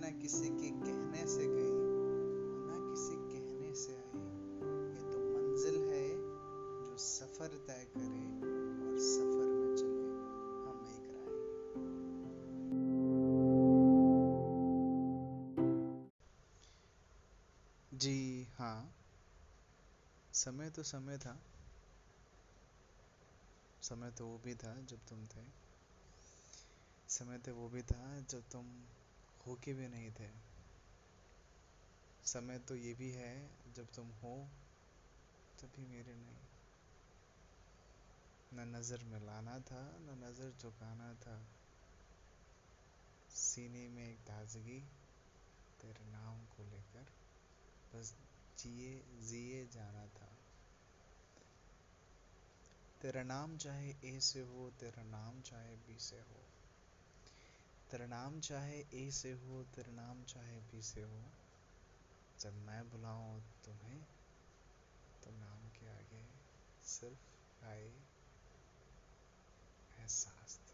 ना किसी के कहने से गई, ना किसी कहने से आई। ये तो मंजिल है जो सफर तय करे, और सफर में चले हम एक राह। जी हाँ, समय तो समय था। समय तो वो भी था जब तुम थे। समय तो वो भी था जब तुम होके भी नहीं थे। समय तो ये भी है जब तुम हो तभी मेरे नहीं। न नजर मिलाना था, न नजर झुकाना था। सीने में एक ताजगी तेरे नाम को लेकर, बस जिए जिए जाना था। तेरा नाम चाहे ए से हो, तेरा नाम चाहे बी से हो, तेरा नाम चाहे ए से हो, तेरा नाम चाहे बी से हो। जब मैं बुलाऊं तुम्हें तो नाम के आगे सिर्फ आए एहसास।